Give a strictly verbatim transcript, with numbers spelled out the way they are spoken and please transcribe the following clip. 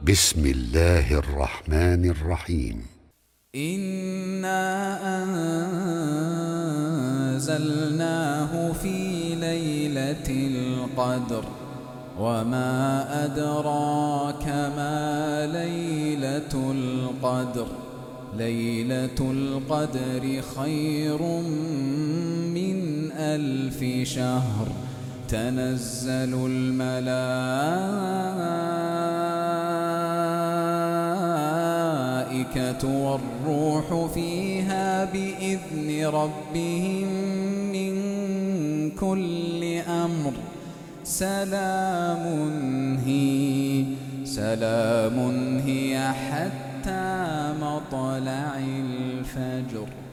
بسم الله الرحمن الرحيم. إنا أنزلناه في ليلة القدر وما أدراك ما ليلة القدر ليلة القدر خير من ألف شهر تنزل الملائكة والروح فيها بإذن ربهم من كل أمر سلام هي سلام هي حتى مطلع الفجر.